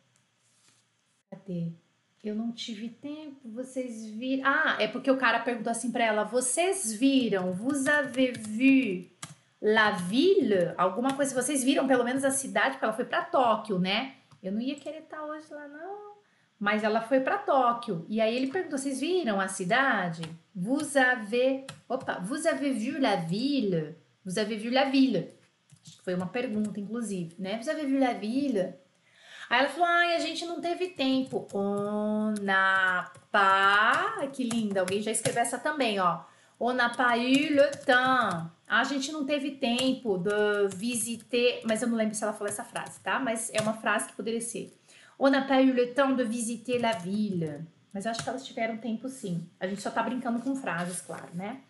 S1: Cadê? Eu não tive tempo, vocês viram... é porque o cara perguntou assim pra ela, vocês viram, vous avez vu la ville? Alguma coisa, vocês viram pelo menos a cidade, porque ela foi pra Tóquio, né? Eu não ia querer estar hoje lá, não. Mas ela foi pra Tóquio. E aí ele perguntou, vocês viram a cidade? Vous avez vu la ville? Vous avez vu la ville? Foi uma pergunta, inclusive, né? Você viu la ville? Aí ela falou, a gente não teve tempo. On n'a pas... Que linda, alguém já escreveu essa também, ó. On n'a pas eu le temps. A gente não teve tempo de visiter... Mas eu não lembro se ela falou essa frase, tá? Mas é uma frase que poderia ser. On n'a pas eu le temps de visiter la ville. Mas eu acho que elas tiveram tempo, sim. A gente só tá brincando com frases, claro, né?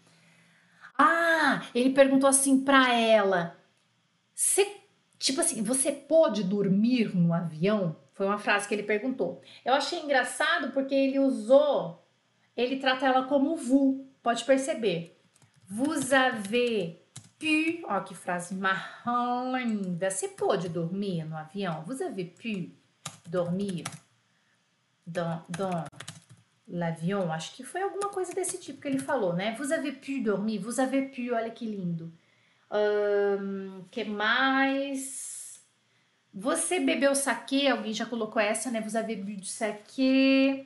S1: Ele perguntou assim pra ela... Tipo assim, você pôde dormir no avião? Foi uma frase que ele perguntou. Eu achei engraçado porque ele trata ela como vous, pode perceber. Vous avez pu, ó que frase marrom linda. Você pôde dormir no avião? Vous avez pu dormir dans l'avion? Acho que foi alguma coisa desse tipo que ele falou, né? Vous avez pu dormir, vous avez pu, olha que lindo. Que mais? Você bebeu saquê? Alguém já colocou essa, né? Vous avez bu du saquê.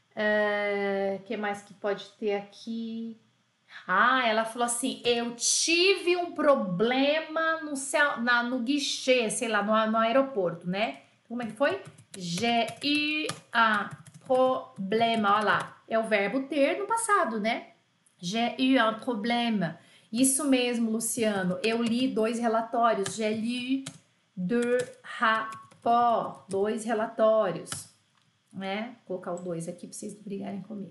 S1: Que mais que pode ter aqui? Ela falou assim, eu tive um problema no guichê, sei lá, no aeroporto, né? Como é que foi? J'ai eu un problème. Olha lá, é o verbo ter no passado, né? J'ai eu un problème. Isso mesmo, Luciano. Eu li 2 relatórios. J'ai lu 2 rapports. 2 relatórios. Né? Vou colocar o 2 aqui para vocês não brigarem comigo.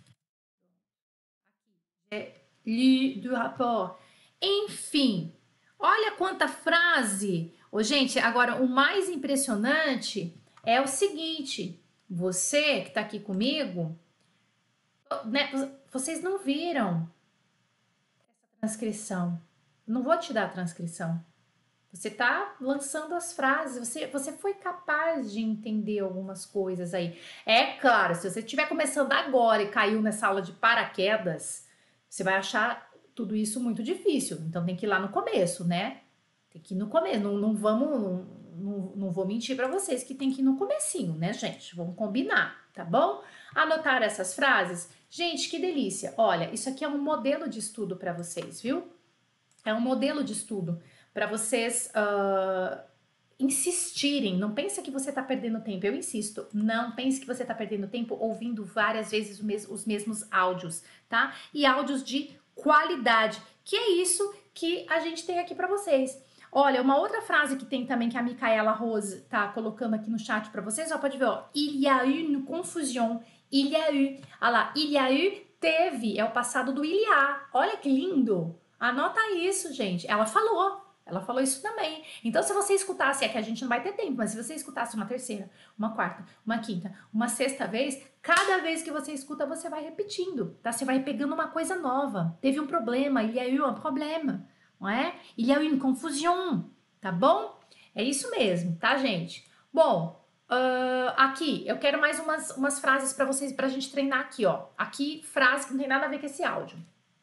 S1: J'ai lu 2 rapports. Enfim, olha quanta frase. Gente, agora o mais impressionante é o seguinte. Você que está aqui comigo, né, vocês não viram transcrição. Não vou te dar a transcrição. Você tá lançando as frases. Você foi capaz de entender algumas coisas aí. É claro, se você estiver começando agora e caiu nessa aula de paraquedas, você vai achar tudo isso muito difícil. Então tem que ir lá no começo, né? Tem que ir no começo. Não vou mentir para vocês que tem que ir no comecinho, né, gente? Vamos combinar, tá bom? Anotar essas frases. Gente, que delícia. Olha, isso aqui é um modelo de estudo para vocês, viu? É um modelo de estudo para vocês insistirem. Não pense que você está perdendo tempo. Eu insisto, não pense que você está perdendo tempo ouvindo várias vezes os mesmos áudios, tá? E áudios de qualidade, que é isso que a gente tem aqui para vocês. Olha, uma outra frase que tem também que a Micaela Rose tá colocando aqui no chat para vocês, ó, pode ver, ó. Il y a eu une confusion. Il y a eu. Olha lá, il y a eu, teve, é o passado do il y a. Olha que lindo. Anota isso, gente. Ela falou isso também. Então, se você escutasse, é que a gente não vai ter tempo, mas se você escutasse uma terceira, uma quarta, uma quinta, uma sexta vez, cada vez que você escuta, você vai repetindo, tá? Você vai pegando uma coisa nova. Teve um problema, il y a eu un problème, não é? Il y a eu une confusion, tá bom? É isso mesmo, tá, gente? Bom, aqui, eu quero mais umas frases para vocês, pra gente treinar aqui, ó. Aqui, frase que não tem nada a ver com esse áudio.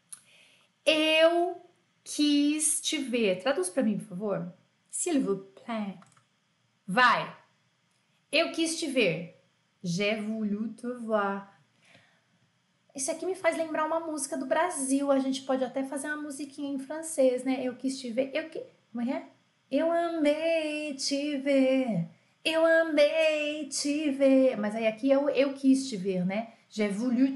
S1: Eu quis te ver. Traduz para mim, por favor. S'il vous plaît. Vai. Eu quis te ver. J'ai voulu te voir. Isso aqui me faz lembrar uma música do Brasil. A gente pode até fazer uma musiquinha em francês, né? Eu quis te ver. Como é? Eu amei te ver. Eu amei te ver. Mas aí aqui eu quis te ver, né? J'ai voulu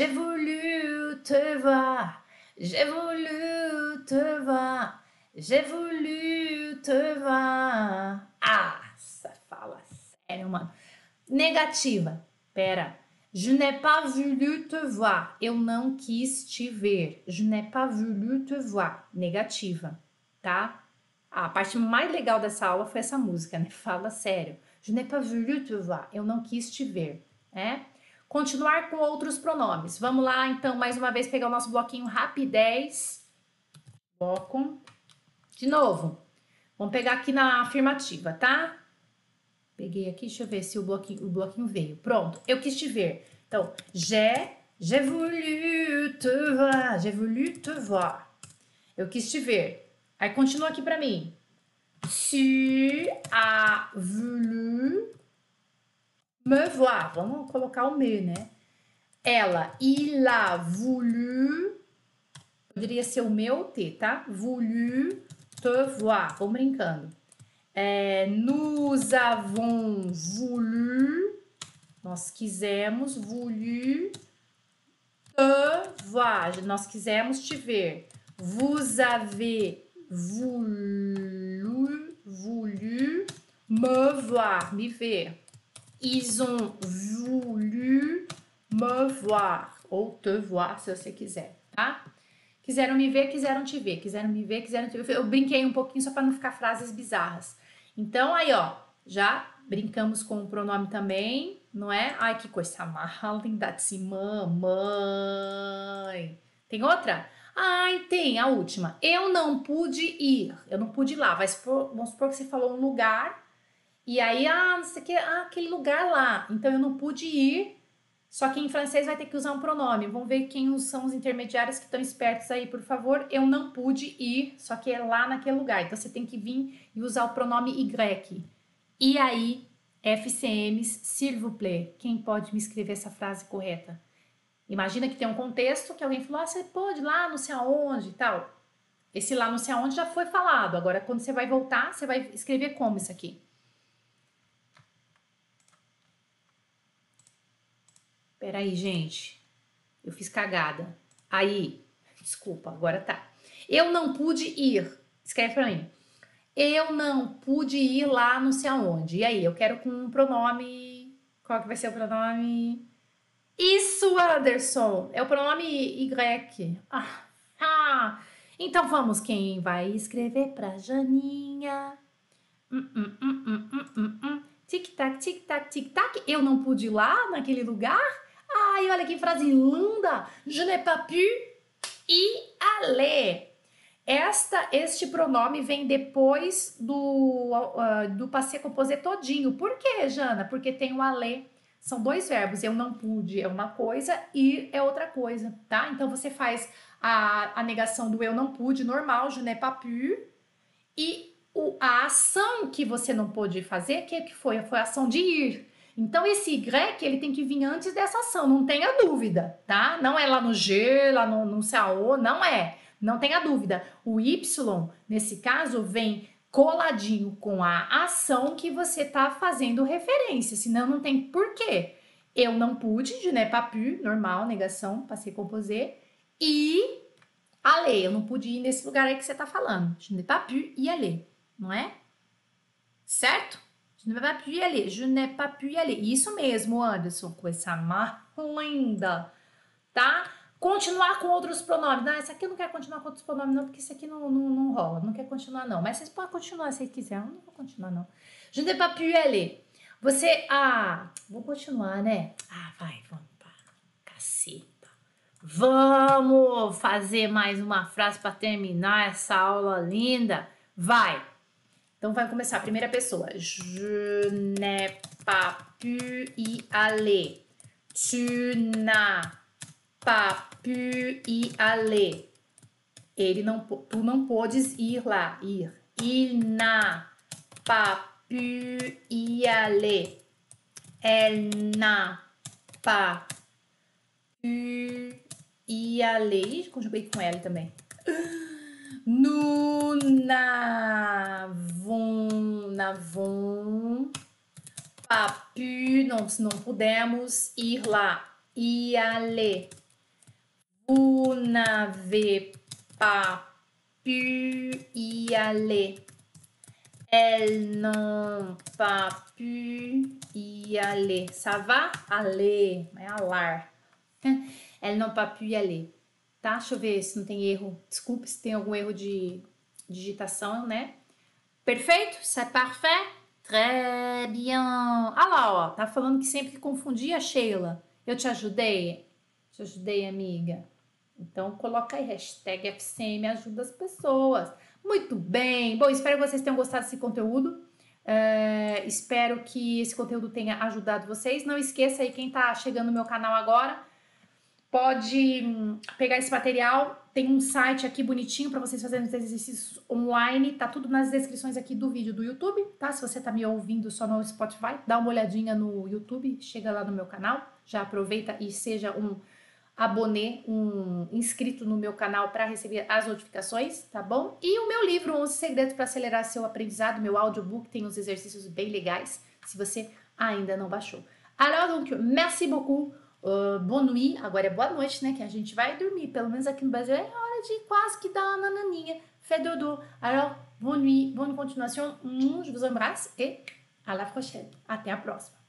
S1: te voir. J'ai voulu te voir, j'ai voulu te voir. Ah, fala sério, mano. Negativa, pera. Je n'ai pas voulu te voir. Eu não quis te ver. Je n'ai pas voulu te voir. Negativa, tá? A parte mais legal dessa aula foi essa música, né? Fala sério. Je n'ai pas voulu te voir. Eu não quis te ver, né? Continuar com outros pronomes. Vamos lá, então, mais uma vez, pegar o nosso bloquinho rapidez. Bloco. De novo. Vamos pegar aqui na afirmativa, tá? Peguei aqui, deixa eu ver se o bloquinho veio. Pronto, eu quis te ver. Então, j'ai voulu te voir. J'ai voulu te voir. Eu quis te ver. Aí, continua aqui pra mim. Tu as voulu me voir, vamos colocar o me, né? Ela, il a voulu, poderia ser o meu T, tá? Voulu te voir, vamos brincando. Nous avons voulu, nós quisemos, voulu te voir, nós quisemos te ver. Vous avez voulu me voir, me ver. Ils ont voulu me voir. Ou te voir, se você quiser, tá? Quiseram me ver, quiseram te ver. Quiseram me ver, quiseram te ver. Eu brinquei um pouquinho só para não ficar frases bizarras. Então, aí, ó. Já brincamos com o pronome também, não é? Ai, que coisa mal, linda assim, mamãe. Tem outra? Ai, tem, a última. Eu não pude ir. Eu não pude ir lá. Vamos supor que você falou um lugar... E aí, não sei o que, aquele lugar lá. Então, eu não pude ir, só que em francês vai ter que usar um pronome. Vamos ver quem são os intermediários que estão espertos aí, por favor. Eu não pude ir, só que é lá naquele lugar. Então, você tem que vir e usar o pronome Y. E aí, FCMs, s'il vous plaît. Quem pode me escrever essa frase correta? Imagina que tem um contexto que alguém falou, você pode ir lá, não sei aonde e tal. Esse lá, não sei aonde, já foi falado. Agora, quando você vai voltar, você vai escrever como isso aqui? Peraí, gente. Eu fiz cagada. Aí, desculpa, agora tá. Eu não pude ir. Escreve pra mim. Eu não pude ir lá não sei aonde. E aí, eu quero com um pronome... Qual que vai ser o pronome? Isso, Anderson! É o pronome Y. Então vamos, quem vai escrever pra Janinha? Tic-tac, tic-tac, tic-tac. Eu não pude ir lá naquele lugar? Ai, olha que frase linda! Je n'ai pas pu y aller. Este pronome vem depois do passé composé todinho. Por quê, Jana? Porque tem o aller. São dois verbos. Eu não pude é uma coisa, ir é outra coisa, tá? Então, você faz a negação do eu não pude, normal, je n'ai pas pu. E a ação que você não pôde fazer, que foi? Foi a ação de ir. Então, esse Y, ele tem que vir antes dessa ação, não tenha dúvida, tá? Não é lá no G, lá no não sei aonde, não é. Não tenha dúvida, o Y, nesse caso, vem coladinho com a ação que você tá fazendo referência, senão não tem porquê. Eu não pude, je n'ai pas pu, normal, negação, passei composé, e aller, eu não pude ir nesse lugar aí que você tá falando. Je n'ai pas pu y aller, não é? Certo? Je n'ai pas pu y aller, je n'ai pas pu y aller. Isso mesmo, Anderson, com essa marca linda, tá? Continuar com outros pronomes. Não, essa aqui eu não quero continuar com outros pronomes, não, porque isso aqui não rola. Não quer continuar, não. Mas vocês podem continuar se vocês quiserem. Eu não vou continuar, não. Je n'ai pas pu y aller. Você. Vou continuar, né? Vai, vamos. Caceta. Vamos fazer mais uma frase para terminar essa aula linda. Vai. Então vai começar. Primeira pessoa. Je n'ai pas pu y aller. Tu n'as pas pu y aller. Tu não podes ir lá. Ir. Il n'a pas pu y aller. Elle n'a pas pu y aller. Ih, conjuguei com L também. Nous n'avons pas pu, não pudemos ir lá. Y aller. Vous n'avez pas pu y aller. Elles n'ont pas pu y aller. Ça va? Aller. É alar. Elles n'ont pas pu y aller. Tá? Deixa eu ver se não tem erro. Desculpe se tem algum erro de digitação, né? Perfeito? C'est parfait? Très bien. Ah lá, ó. Tá falando que sempre que confundia, Sheila. Eu te ajudei? Te ajudei, amiga? Então, coloca aí, hashtag FCM ajuda as pessoas. Muito bem. Bom, espero que vocês tenham gostado desse conteúdo. Espero que esse conteúdo tenha ajudado vocês. Não esqueça aí, quem tá chegando no meu canal agora, pode pegar esse material. Tem um site aqui bonitinho para vocês fazerem os exercícios online. Tá tudo nas descrições aqui do vídeo do YouTube, tá? Se você tá me ouvindo só no Spotify, dá uma olhadinha no YouTube, chega lá no meu canal. Já aproveita e seja um abonê, um inscrito no meu canal para receber as notificações, tá bom? E o meu livro, 11 Segredos para Acelerar Seu Aprendizado, meu audiobook, tem uns exercícios bem legais, se você ainda não baixou. Alors, donc, merci beaucoup. Bonne nuit, agora é boa noite, né, que a gente vai dormir, pelo menos aqui no Brasil é hora de quase que dar uma naninha, fait dodo. Alors, bonne nuit, bonne continuation, je vous embrasse et à la prochaine, até a próxima.